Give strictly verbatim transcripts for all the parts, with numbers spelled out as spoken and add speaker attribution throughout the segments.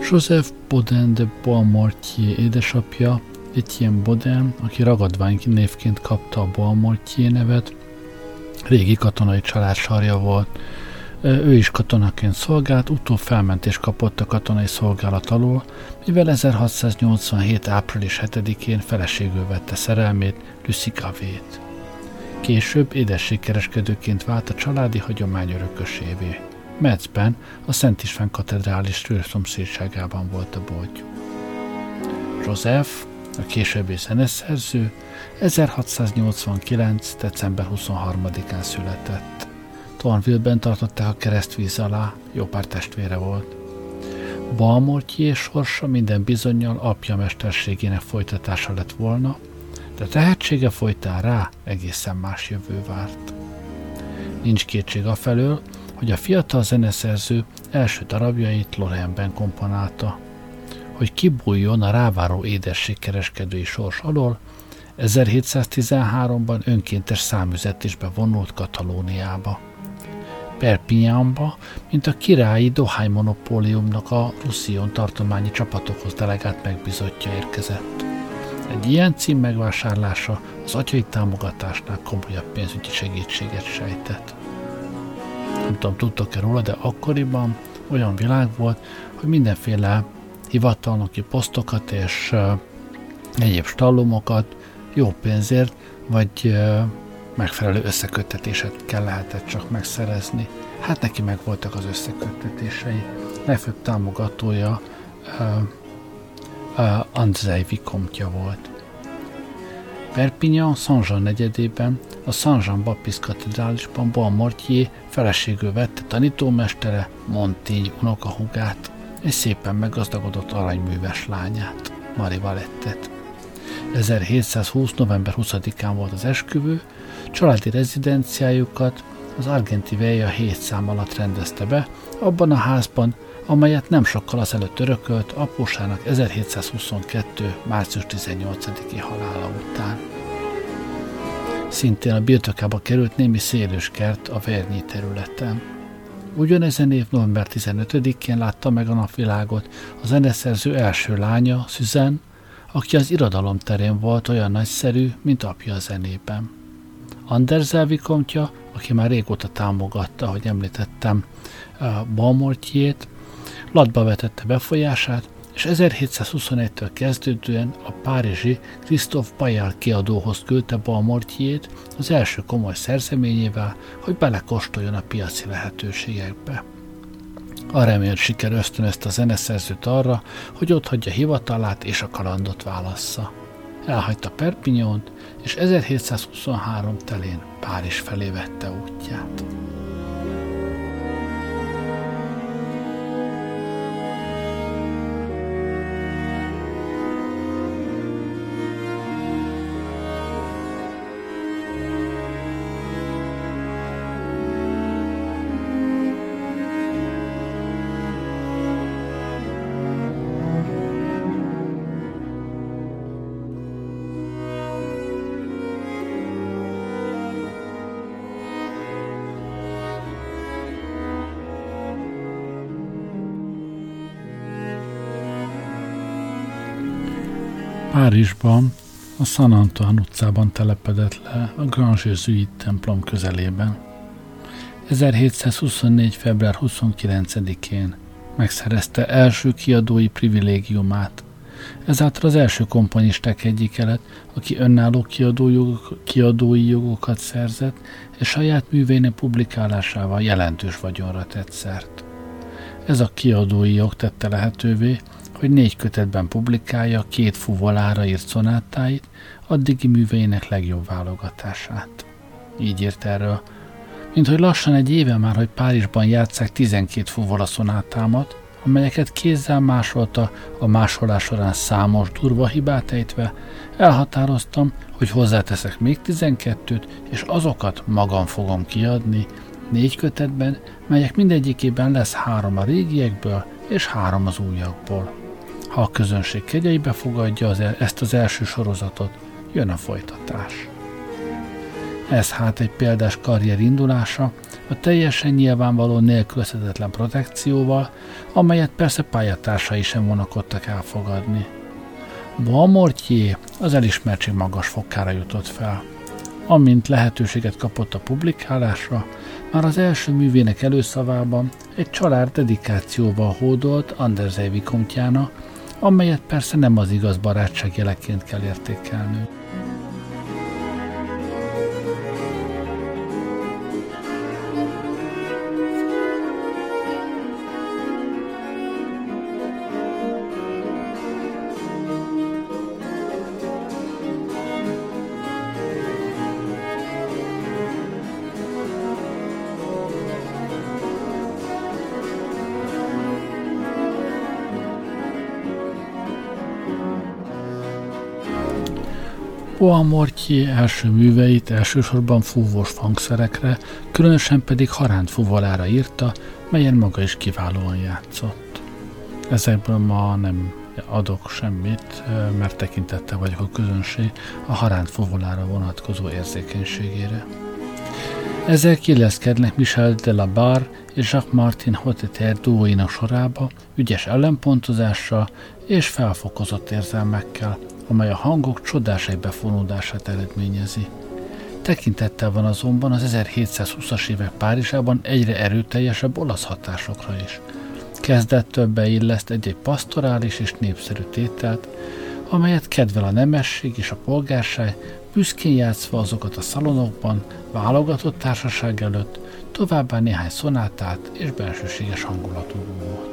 Speaker 1: Joseph Baudin de Boismortier édesapja, Etienne Baudin, aki ragadvány névként kapta a Boismortier nevet, régi katonai család sarja volt. Ő is katonaként szolgált, utóbb felmentést kapott a katonai szolgálat alól, mivel ezerhatszáznyolcvanhét. április hetedikén feleségül vette szerelmét, Lucie Gavét. Később édességkereskedőként vált a családi hagyomány örökösévé. Metzben, a Szent István katedrális szomszédságában volt a boltjuk. Joseph, a későbbi zeneszerző, ezerhatszáznyolcvankilenc. december huszonharmadikán született. Thornville-ben tartották a keresztvíz alá, jó pár testvére volt. Boismortier sorsa minden bizonnyal apja mesterségének folytatása lett volna, de tehetsége folytán rá egészen más jövő várt. Nincs kétség afelől, hogy a fiatal zeneszerző első darabjait Lorraine-ben komponálta. Hogy kibújjon a ráváró édességkereskedői sors alól, ezerhétszáztizenháromban önkéntes számüzetésbe vonult Katalóniába. Perpignanba, mint a királyi dohánymonopóliumnak a Roussillon tartományi csapatokhoz delegált megbízottja érkezett. Egy ilyen cím megvásárlása az atyai támogatásnál komolyabb pénzügyi segítséget sejtett. Nem tudom, tudtok-e róla, de akkoriban olyan világ volt, hogy mindenféle hivatalnoki posztokat és uh, egyéb stallumokat jó pénzért, vagy uh, megfelelő összeköttetéseket kell lehetett csak megszerezni. Hát neki meg voltak az összeköttetései. Legfőbb támogatója uh, uh, Andrzej Vicomte volt. Perpignan Saint-Jean negyedében, a Saint-Jean-Baptiste katedrálisban Boismortier feleségül vette tanítómestere, Montaigne unokahúgát, egy szépen meggazdagodott aranyműves lányát, Marie Valettet. ezerhétszázhúsz. november huszadikán volt az esküvő, családi rezidenciájukat az Argenti Veja hét szám alatt rendezte be, abban a házban, amelyet nem sokkal azelőtt örökölt apósának ezerhétszázhuszonkettő. március tizennyolcadiki halála után. Szintén a birtokába került némi szélőskert a Vernyi területen. Ugyanezen év november tizenötödikén látta meg a napvilágot a zeneszerző első lánya, Suzanne, aki az irodalom terén volt olyan nagyszerű, mint apja a zenében. Andrzej Vicomte, aki már régóta támogatta, ahogy említettem, Boismortiert, latba vetette befolyását, és ezerhétszázhuszonegytől kezdődően a párizsi Christophe Bayard kiadóhoz küldte Boismortiert az első komoly szerzeményével, hogy belekóstoljon a piaci lehetőségekbe. A remélt siker ösztönözte a zeneszerzőt arra, hogy otthagyja hivatalát és a kalandot válassza. Elhagyta Perpignant, és ezerhétszázhuszonhárom telén Párizs felé vette útját. Párizsban, a Saint Antoine utcában telepedett le a Grand Jésuite templom közelében. ezerhétszázhuszonnégy. február huszonkilencedikén megszerezte első kiadói privilégiumát. Ezáltal az első komponisták egyike lett, aki önálló kiadójog, kiadói jogokat szerzett, és saját művének publikálásával jelentős vagyonra tett szert. Ez a kiadói jog tette lehetővé, hogy négy kötetben publikálja két fuvolára írt szonátáit, addigi műveinek legjobb válogatását. Így írt erről, mint hogy lassan egy éve már, hogy Párizsban játsszák tizenkét fuvola szonátámat, amelyeket kézzel másolta, a másolás során számos durva hibát ejtve, elhatároztam, hogy hozzáteszek még tizenkettőt, és azokat magam fogom kiadni, négy kötetben, melyek mindegyikében lesz három a régiekből, és három az újakból. Ha a közönség kegyeibe fogadja az, ezt az első sorozatot, jön a folytatás. Ez hát egy példás karrier indulása, a teljesen nyilvánvaló nélkülözhetetlen protekcióval, amelyet persze pályatársai sem vonakodtak elfogadni. Boismortier az elismertség magas fokára jutott fel. Amint lehetőséget kapott a publikálásra, már az első művének előszavában egy család dedikációval hódolt Andersey vikomtjának, amelyet persze nem az igaz barátság jeleként kell értékelni. Boismortier első műveit elsősorban fúvós hangszerekre, különösen pedig haránt fuvolára írta, melyen maga is kiválóan játszott. Ezekből ma nem adok semmit, mert tekintettel vagyok a közönség a haránt fuvolára vonatkozó érzékenységére. Ezek illeszkednek Michel de la Barre és Jacques-Martin Hotteterre duóinak sorába, ügyes ellenpontozással és felfokozott érzelmekkel, amely a hangok csodás egybefonódását eredményezi. Tekintettel van azonban az ezerhétszázhúszas évek Párizsában egyre erőteljesebb olasz hatásokra is. Kezdettől beilleszt egy-egy pasztorális és népszerű tételt, amelyet kedvel a nemesség és a polgárság, büszkén játszva azokat a szalonokban, válogatott társaság előtt, továbbá néhány szonátát és bensőséges hangulatú volt.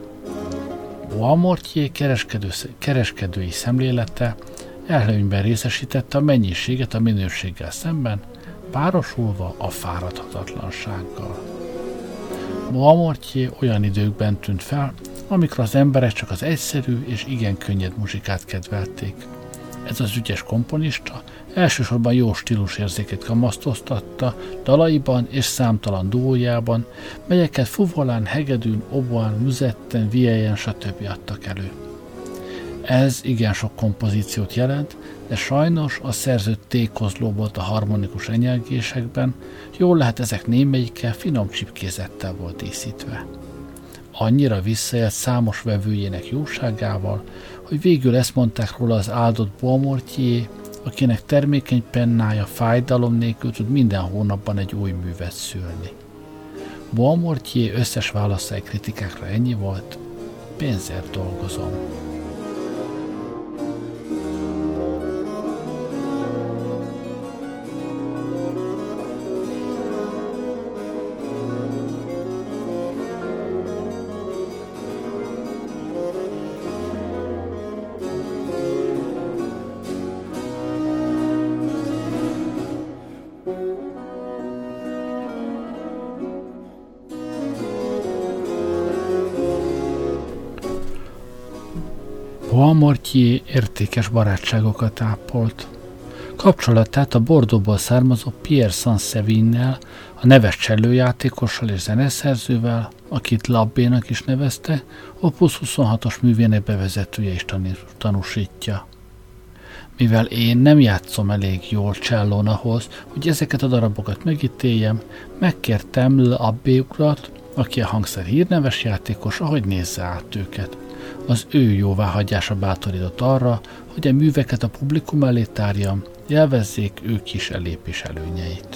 Speaker 1: Boismortier kereskedő, kereskedői szemlélete előnyben részesítette a mennyiséget a minőséggel szemben, párosulva a fáradhatatlansággal. Boismortier olyan időkben tűnt fel, amikor az emberek csak az egyszerű és igen könnyed muzsikát kedvelték. Ez az ügyes komponista elsősorban jó stílusérzéket kamasztoztatta dalaiban és számtalan duójában, melyeket fuvolán, hegedűn, oboán, müzetten, viellyen, stb. Adtak elő. Ez igen sok kompozíciót jelent, de sajnos a szerző tékozló volt a harmonikus enyelgésekben, jól lehet ezek némelyike finom csipkézettel volt díszítve. Annyira visszaélt számos vevőjének jóságával, hogy végül ezt mondták róla az áldott Boismortier, akinek termékeny pennája fájdalom nélkül tud minden hónapban egy új művet szülni. Boismortier összes válasza egy kritikákra ennyi volt: pénzért dolgozom. Boismortier értékes barátságokat ápolt. Kapcsolatát a Bordeauxból származó Pierre Saint-Sévignel, a neves csellőjátékossal és zeneszerzővel, akit Labbénak is nevezte, Opus huszonhatos művének bevezetője is tanúsítja. Mivel én nem játszom elég jól csellón ahhoz, hogy ezeket a darabokat megítéljem, megkértem Labbé urat, aki a hangszer hírneves játékos, ahogy nézze át őket. Az ő jóváhagyása bátorított arra, hogy a műveket a publikum elé tárjam, élvezzék ők is elépés előnyeit.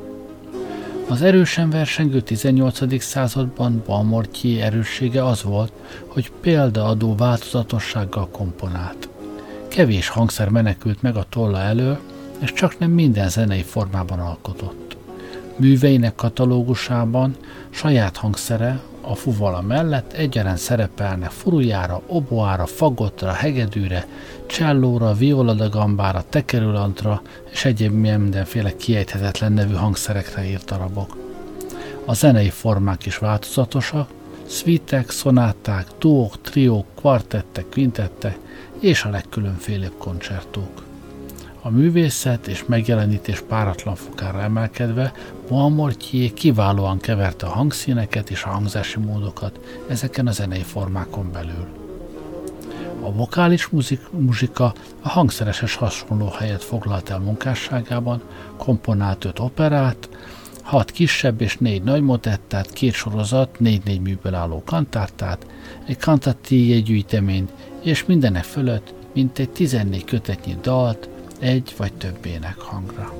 Speaker 1: Az erősen versengő tizennyolcadik században Boismortier erőssége az volt, hogy példaadó változatossággal komponált. Kevés hangszer menekült meg a tolla elől, és csak nem minden zenei formában alkotott. Műveinek katalógusában saját hangszere, a fuvola mellett egyaránt szerepelnek furujára, oboára, fagottra, hegedűre, csellóra, violadagambára, tekerülantra és egyéb mindenféle kiejthetetlen nevű hangszerekre írt darabok. A zenei formák is változatosak, szvítek, szonáták, duók, triók, kvartettek, kvintettek és a legkülönfélébb koncertók. A művészet és megjelenítés páratlan fokára emelkedve Boismortier kiválóan keverte a hangszíneket és a hangzási módokat ezeken a zenei formákon belül. A vokális muzik, muzsika a hangszereses hasonló helyet foglalt el munkásságában, komponált öt operát, hat kisebb és négy nagy motettát, két sorozat, négy-négy műből álló kantártát, egy kantatíj gyűjteményt, és mindenek fölött mintegy tizennégy kötetnyi dalt, egy vagy több énekhangra.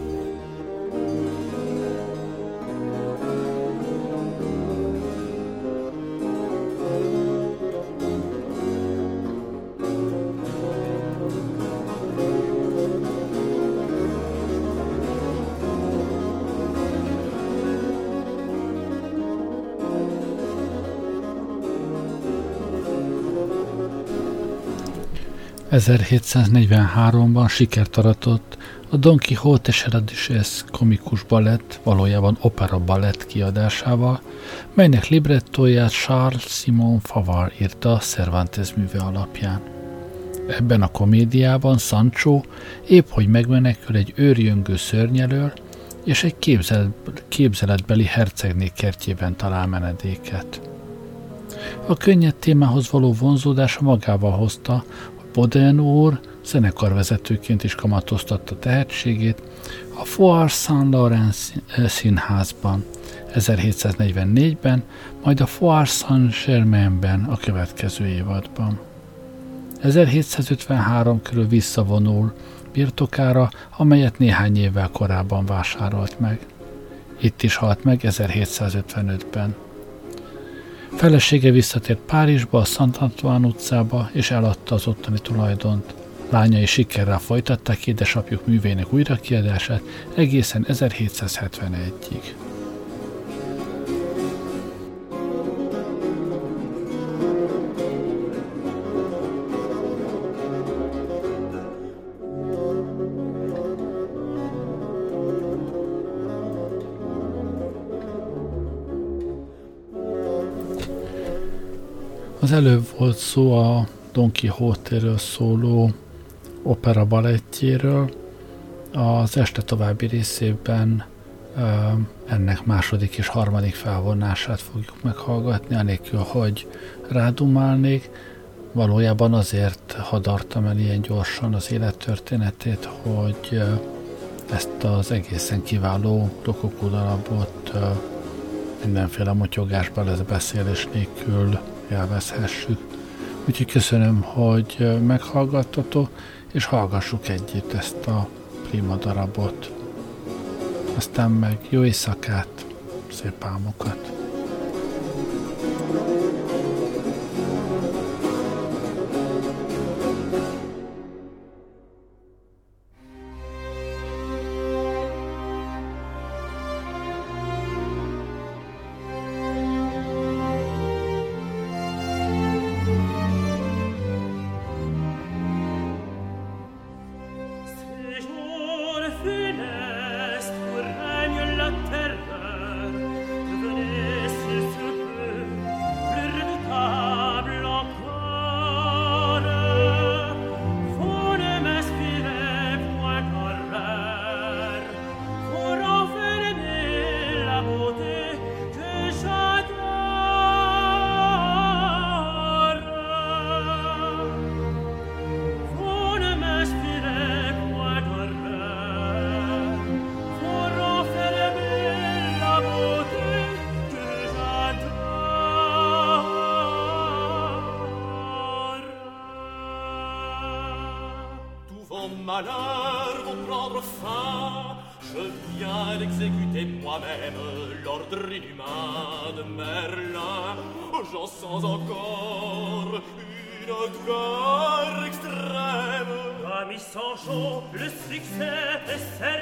Speaker 1: ezerhétszáznegyvenháromban sikert aratott a Don Quixote Seradises komikus balett, valójában opera balett kiadásával, melynek librettóját Charles Simon Favart írta Cervantes műve alapján. Ebben a komédiában Sancho épp hogy megmenekül egy őrjöngő szörnyelől, és egy képzelet, képzeletbeli hercegné kertjében talál menedéket. A könnyed témához való vonzódása magával hozta, Bodin úr zenekarvezetőként is kamatoztatta tehetségét a Foire Saint-Laurent színházban ezerhétszáznegyvennégyben, majd a Foire Saint-Germainben a következő évadban. ezerhétszázötvenhárom körül visszavonul birtokára, amelyet néhány évvel korábban vásárolt meg. Itt is halt meg ezerhétszázötvenötben. Felesége visszatért Párizsba, a Saint-Antoine utcába, és eladta az ottani tulajdont. Lányai sikerrel folytatták édesapjuk művének újrakiadását egészen ezerhétszázhetvenegyig. Az előbb volt szó a Don Quixote-ről szóló opera balettjéről. Az este további részében ennek második és harmadik felvonását fogjuk meghallgatni, anélkül, hogy rádumálnék. Valójában azért hadartam el ilyen gyorsan az élettörténetét, hogy ezt az egészen kiváló rokokó darabot mindenféle motyogásba lesz beszélés nélkül élvezhessük. Úgyhogy köszönöm, hogy meghallgattatok, és hallgassuk együtt ezt a prima darabot. Aztán meg jó éjszakát, szép álmokat!
Speaker 2: Malheur vont prendre fin, je viens d'exécuter moi-même l'ordre inhumain de Merlin. J'en sens encore une odeur extrême. Ami Sancho, le succès est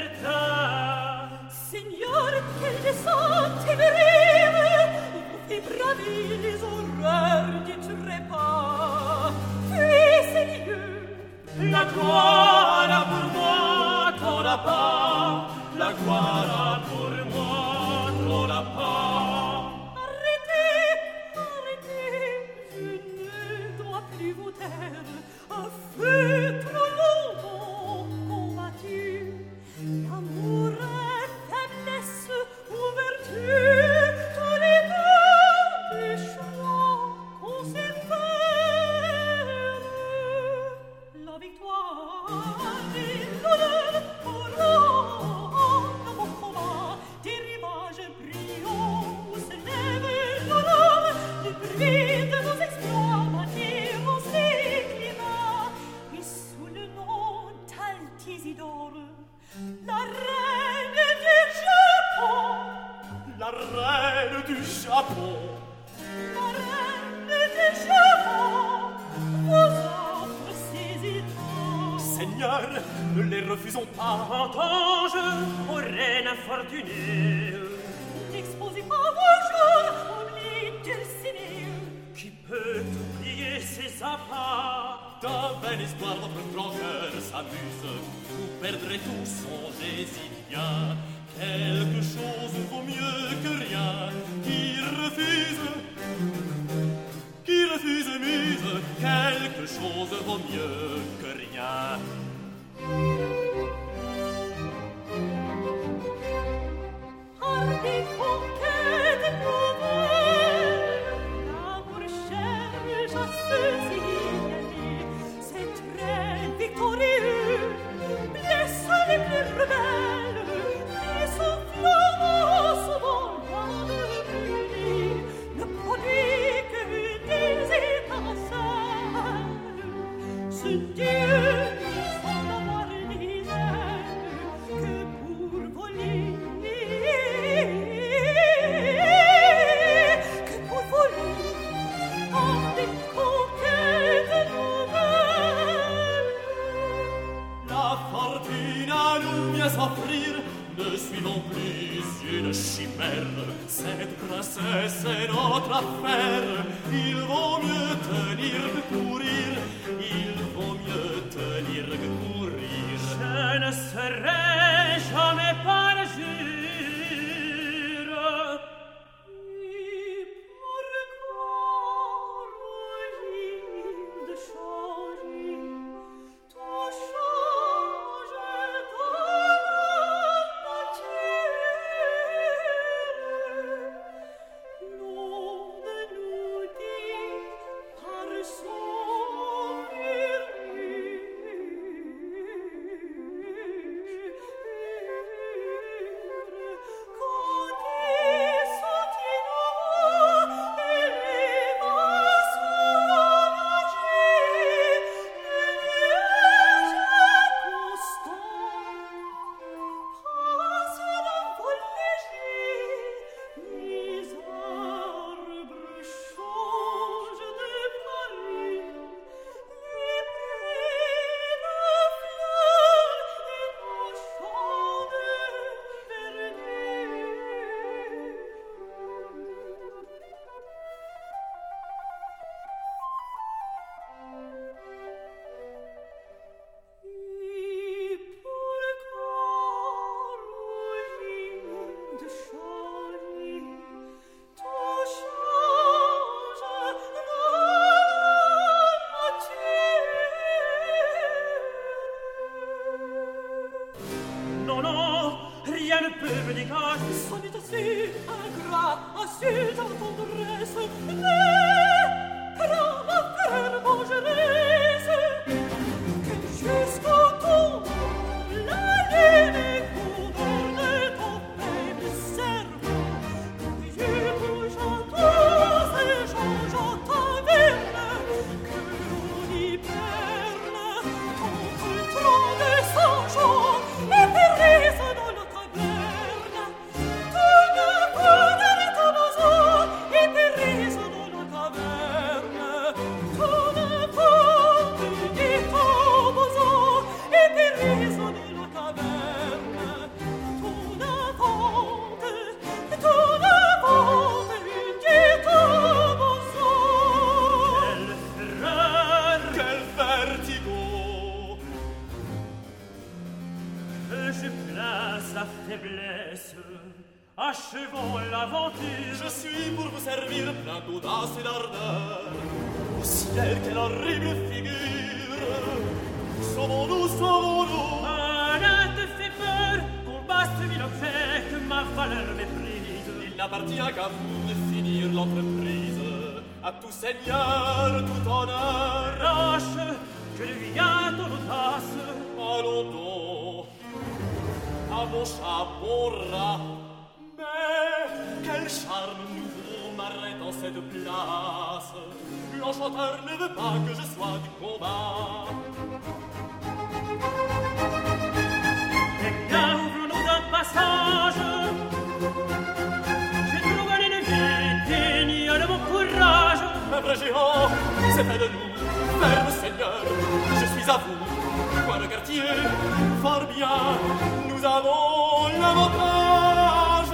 Speaker 2: certain.
Speaker 3: Seigneur, quelle descente émérime, il vous fait braver les horreurs du trépas. Fuissez lieux.
Speaker 2: La gloire pour moi, trop la pas. La gloire pour moi, trop la pas.
Speaker 3: Arrêtez, arrêtez, je ne dois plus vous taire. Un feu trop longtemps combattu. Amour, faiblesse ou vertu, tous les deux du choix qu'on s'est fait.
Speaker 2: seigneurs, ne les refusons pas.
Speaker 4: En ange, aux reines infortunées,
Speaker 3: n'exposez pas vos jours, oublie Dulcinée.
Speaker 4: qui peut oublier ses appas?
Speaker 2: D'un vain espoir, votre grand cœur s'amuse. Vous perdrez tout, songez-y bien. Quelque chose vaut mieux que rien. Qui refuse, qui refuse muse. Quelque chose vaut mieux que rien.
Speaker 3: Hardy conquête nouvelle, l'amour cherche à se signaler. Ses traits victorieux blessent les plus rebelles, mais son flambeau souvent loin de brûler ne produit que des étincelles. Ce Dieu qui semble avoir des ailes que pour voler, que pour voler dans des conquêtes nouvelles.
Speaker 2: La fortune à nous vient s'offrir. Ne suivons plus une chimère. Cette princesse est notre affaire. Il vaut mieux tenir que courir. Il vaut mieux tenir que courir.
Speaker 4: Je ne serai jamais parjure.
Speaker 3: Et pourquoi rougir de changer? Tout change dans la nature. L'on ne nous dit par son murmure quand il s'entinera et les vents soulagés, le nuage constant passe d'un vol léger, les arbres changent de parure, les prés de fleurs et nos champs de verdure. Et pourquoi rougir de changer? Tout change dans la nature.
Speaker 4: Non, non, rien ne peut me dégager.
Speaker 3: C'en est assez ingrat, assez ta tendresse, mais prends ma peine vengeresse, que jusqu'au tombe la lune gouverne ton faible cerveau. Que je bouge en tous et change en taverne, que l'on hiberne contre trop de sang-chaud et périsse dans la taverne. Tout ne connaît ton besoin et périsse dans la taverne. Tout ne connaît ton besoin et périsse dans la taverne. Tout n'invente, tout n'invente que ton besoin.
Speaker 4: Quelle fureur
Speaker 2: Quel vertigo!
Speaker 4: que je place la faiblesse. Achevons l'aventure.
Speaker 2: Je suis pour vous servir plein d'audace et d'ardeur. Au ciel, quelle horrible figure! Sauvons-nous, sauvons-nous!
Speaker 4: Rien ne te fait peur, combat ce vil objet que ma valeur méprise.
Speaker 2: Il n'appartient qu'à vous de finir l'entreprise. À tout seigneur, tout honneur.
Speaker 4: Lâche, que lui vient ton audace.
Speaker 2: Allons donc à mon chat, mon rat. Mais quel charme nouveau m'arrête en cette place. L'enchanteur ne veut pas que je sois du combat.
Speaker 4: Eh bien, ouvrons-nous un passage. J'ai trouvé une vieille digne de mon courage.
Speaker 2: Un vrai géant, c'est près de nous. Ferme, Seigneur, je suis à vous. Quoi le quartier, fort bien, nous avons l'avantage.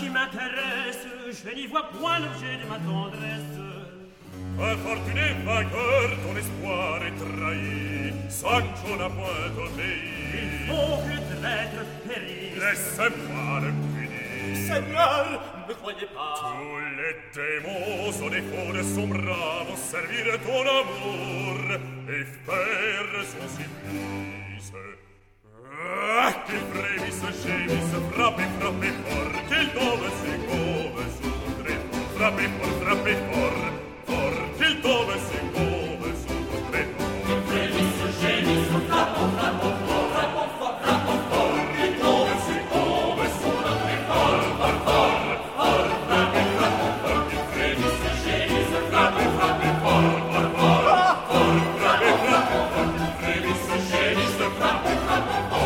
Speaker 4: qui m'intéresse, je n'y vois point l'objet de ma tendresse.
Speaker 2: Infortuné vainqueur, ton espoir est trahi. Sancho n'a point obéi.
Speaker 4: Il faut que le traître périsse.
Speaker 2: Laisse-moi le punir.
Speaker 3: Seigneur, ne croyez pas.
Speaker 2: Tous les démons au défaut de son bras vont servir ton amour et faire son supplice. Ah, qu'il frémisse, gémisse, frappez, frappez fort, qu'il tombe, s'écove, sous tréfonds. Frappez fort, frappez fort, fort, qu'il tombe, s'écove, sous tréfonds. Qu'il frémisse, gémisse, frappons, frappons fort, frappons fort, frappons fort, qu'il tombe, s'écove, sous tréfonds. Fort, fort, fort, frappez, frappons fort, qu'il frémisse, gémisse, frappez, frappez fort, fort, fort, fort, frappez, frappons fort, qu'il frémisse, gémisse, frappez, frappez fort.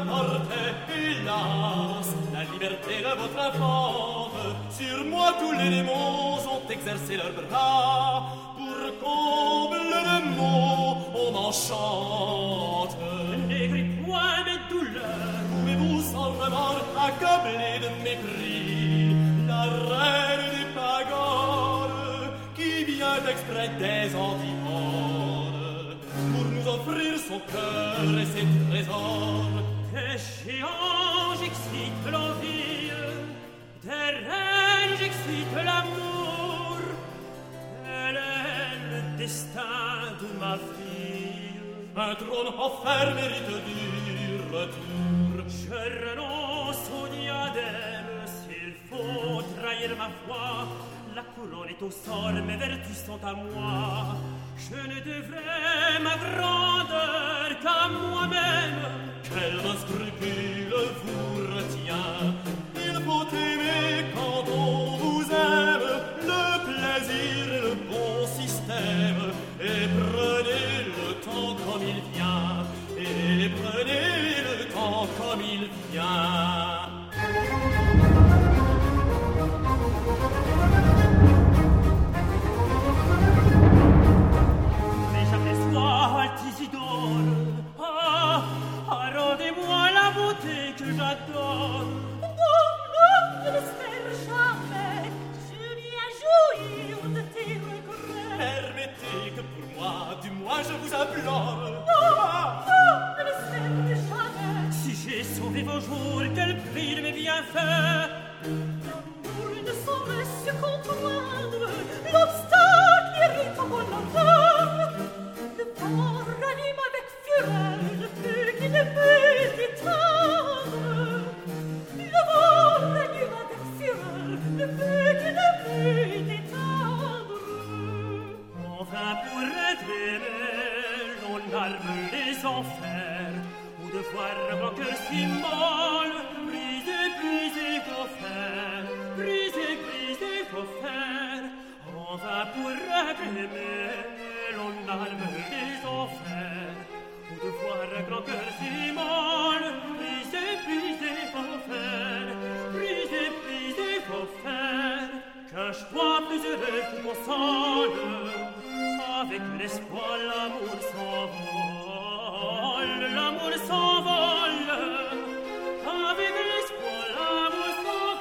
Speaker 2: porte, hélas, la liberté de votre infante. Sur moi tous les démons ont exercé leurs bras. Pour comble de mots, on m'enchante.
Speaker 4: N'aigris point mes douleurs.
Speaker 2: Pouvez-vous sans remords accabler de mépris la reine des pagodes qui vient exprès des antipodes pour nous offrir son cœur et ses trésors?
Speaker 4: Des géants j'excite l'envie, des reines j'excite l'amour. Tel est le destin de ma fille.
Speaker 2: Un trône offert mérite du retour.
Speaker 4: Je renonce au diadème s'il faut trahir ma foi. La couronne est au sol, mes vertus sont à moi. Je ne devrais ma grandeur qu'à moi-même.
Speaker 2: Quel scrupule vous retient? Il faut aimer quand on vous aime, le plaisir et le bon système. Et prenez le temps comme il vient, et prenez le temps comme il vient.
Speaker 4: Mais j'aperçois Altisidore. Ah, ah, rendez-moi la beauté que j'adore.
Speaker 5: Non, non, ne l'espère jamais. Je viens jouir de tes regrets.
Speaker 2: Permettez que pour moi, du moins je vous implore.
Speaker 5: Non, non, ne l'espère jamais.
Speaker 4: Si j'ai sauvé vos jours, quel prix de mes bienfaits.
Speaker 5: L'amour ne saurait se contraindre. L'obstacle irrite mon âme. Le vent ranime avec fureur le feu qui ne peut éteindre. Le vent ranime avec fureur le feu qui ne peut éteindre.
Speaker 4: Enfin pour être aimé, l'on arme les enfers. Ou de voir mon cœur si molle, brisé, brisé vos fers, brisé, brisé vos fers. Enfin pour être aimé, l'on arme les enfers. Ou de voir mon cœur si molle, brisé, brisé vos fers, brisé, brisé vos fers. Qu'un choix plus heureux vous console, avec l'espoir l'amour s'envole, l'amour s'envole, avec l'espoir l'amour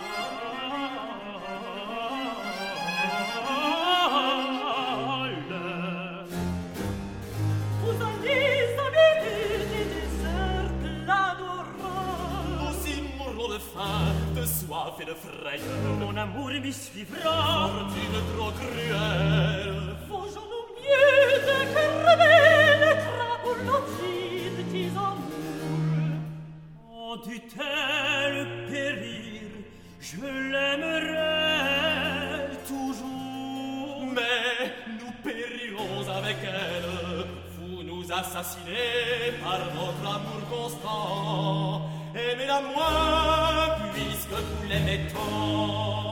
Speaker 4: s'envole.
Speaker 5: Vous allez habiter des déserts de l'adorant.
Speaker 2: Aussi mourrons de faim, de soif et de frayeur.
Speaker 4: Mon amour m'y suivra.
Speaker 2: Fortune trop cruelle.
Speaker 5: Faisons-nous mieux de crever le crapaud logis de tes amours.
Speaker 4: En dût-elle périr, je l'aimerai toujours.
Speaker 2: Mais nous périrons avec elle. Vous nous assassinez par votre amour constant. Aimez-la moins, puisque vous l'aimez tant.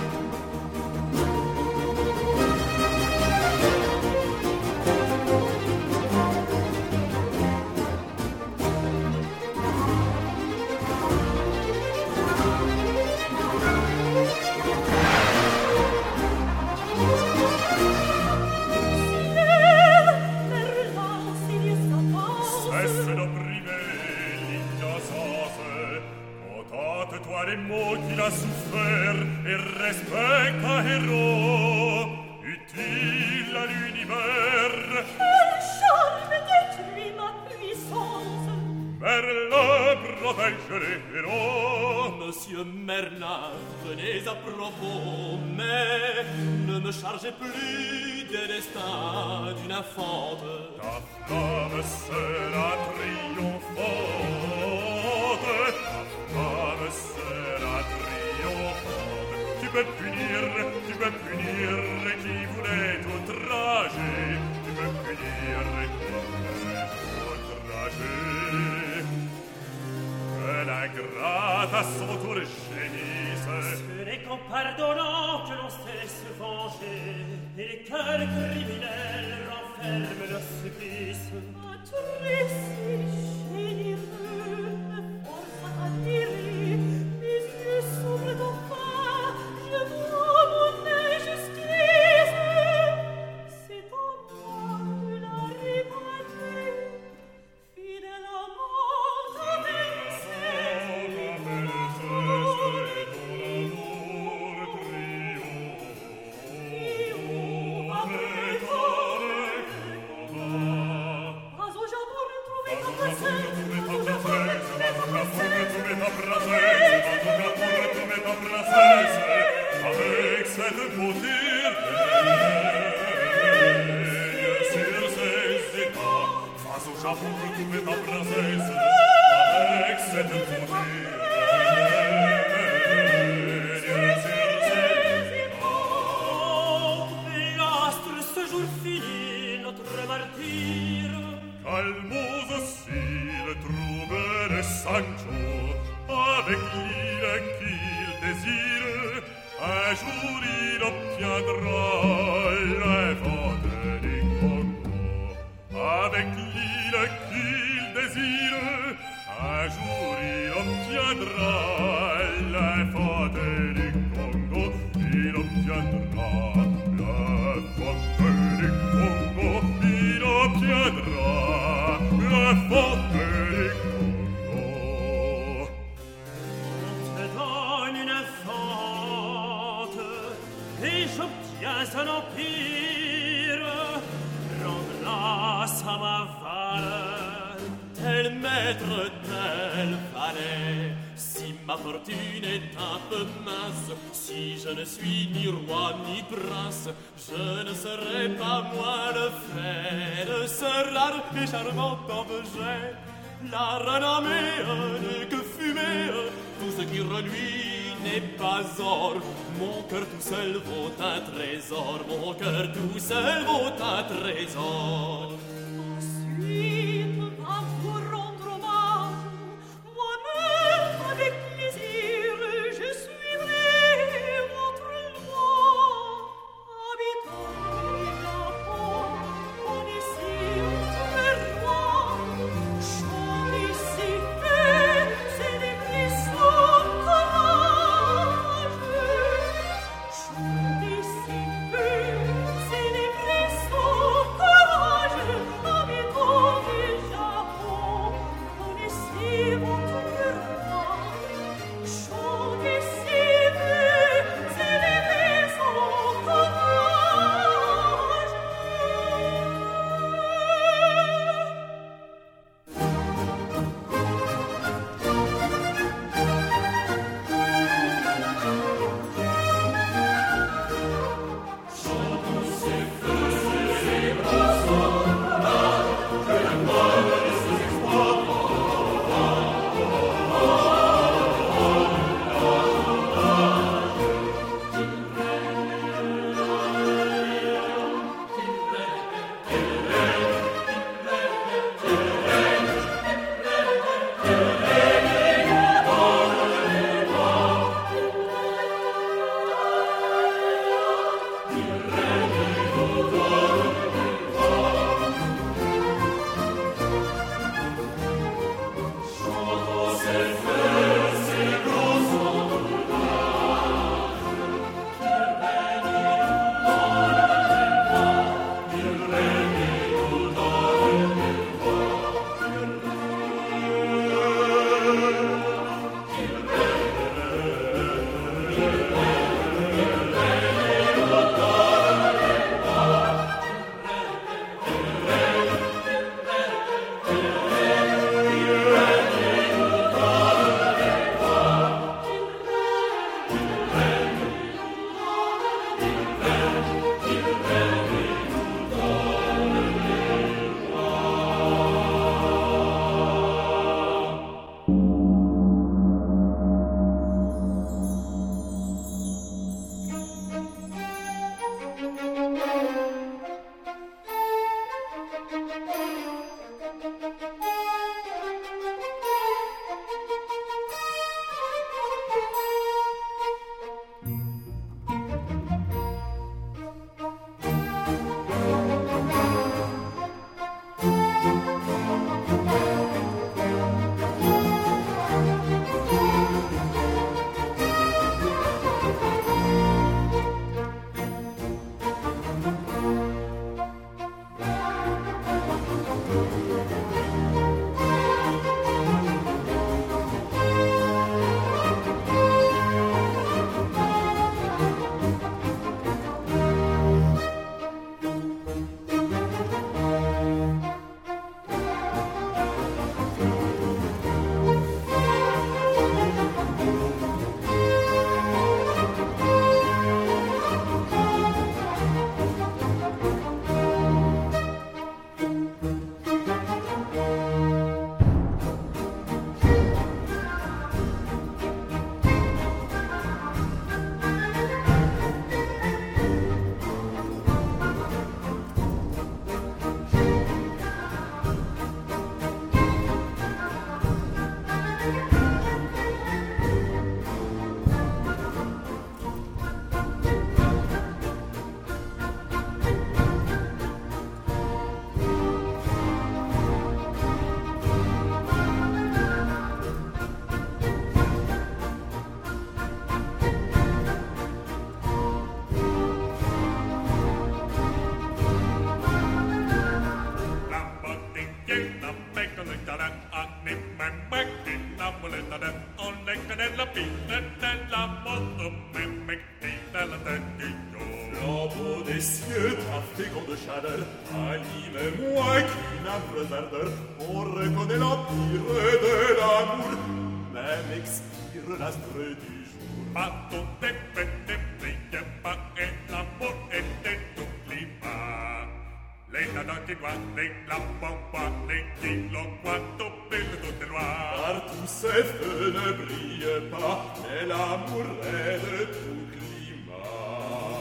Speaker 3: Cesse d'opprimer l'innocence. Contate-toi des maux qu'il a souffert et respecte un héros utile à l'univers.
Speaker 5: Quel charme détruit ma puissance.
Speaker 3: Merlin protège les héros.
Speaker 2: Monsieur Merlin, venez à propos, mais ne me chargez plus des destins d'une infante.
Speaker 3: Ta femme sera triomphante. Ta femme sera triomphante. Tu peux punir, tu peux punir qui voulait outrager. Tu peux punir qui voulait outrager. Que l'ingrate à son tour gémisse.
Speaker 4: Ce n'est qu'en pardonnant que l'on sait se venger, et les cœurs criminels renferment leur supplice.
Speaker 5: Un récit généreux me
Speaker 3: cette beauté règne sur ses états. Face au Japon, retrouver ta princesse avec cette beauté règne sur ses états.
Speaker 4: L'astre ce jour fini notre martyre.
Speaker 3: Calmos aussi le trouble de Sancho, avec l'île qu'il désire, un jour il obtiendra les ventes du Congo. Avec l'île qu'il désire, un jour il obtiendra les ventes du Congo. Il obtiendra les ventes du Congo. Il obtiendra les ventes du Congo.
Speaker 4: On te donne une fente et j'obtiens un empire. Rends-la à ma valeur,
Speaker 2: Tel maître, tel valet. Si ma fortune est un peu mince, si je ne suis ni roi ni prince, je ne serai pas moins le fait de ce rare et charmant objet. La renommée n'est que fumée, tout ce qui reluit n'est pas or. Mon cœur tout seul vaut un trésor, mon cœur tout seul vaut un trésor.
Speaker 5: Ensuite, va vous rendre hommage. Moi-même, avec plaisir, je suivrai votre loi. Habitant du Japon, connaissez votre roi. Chantez si fait, c'est des frissons courageux. Chantez si fait, c'est des frissons courageux.
Speaker 3: muletta den, on lecca della pinna della moto, me mecti della tendillo.
Speaker 2: Flambeau des cieux, trafiquant de chaleur, anime-moi qu'une âpre ardeur, on reconnaît l'empire de l'amour, même expire l'astre du jour.
Speaker 3: Ma tout est fait, ne brille pas, et l'amour était tout climat. Les nanas qui doivent, les lamps, les kilos, quoi, tout pile, tout est noir.
Speaker 2: Partout ces feux ne brillent pas, mais l'amour est de tout climat.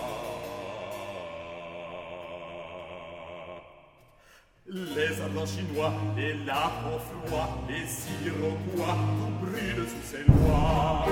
Speaker 2: Les ardents chinois, les lapins froids, les iroquois, tout brûle sous ces lois.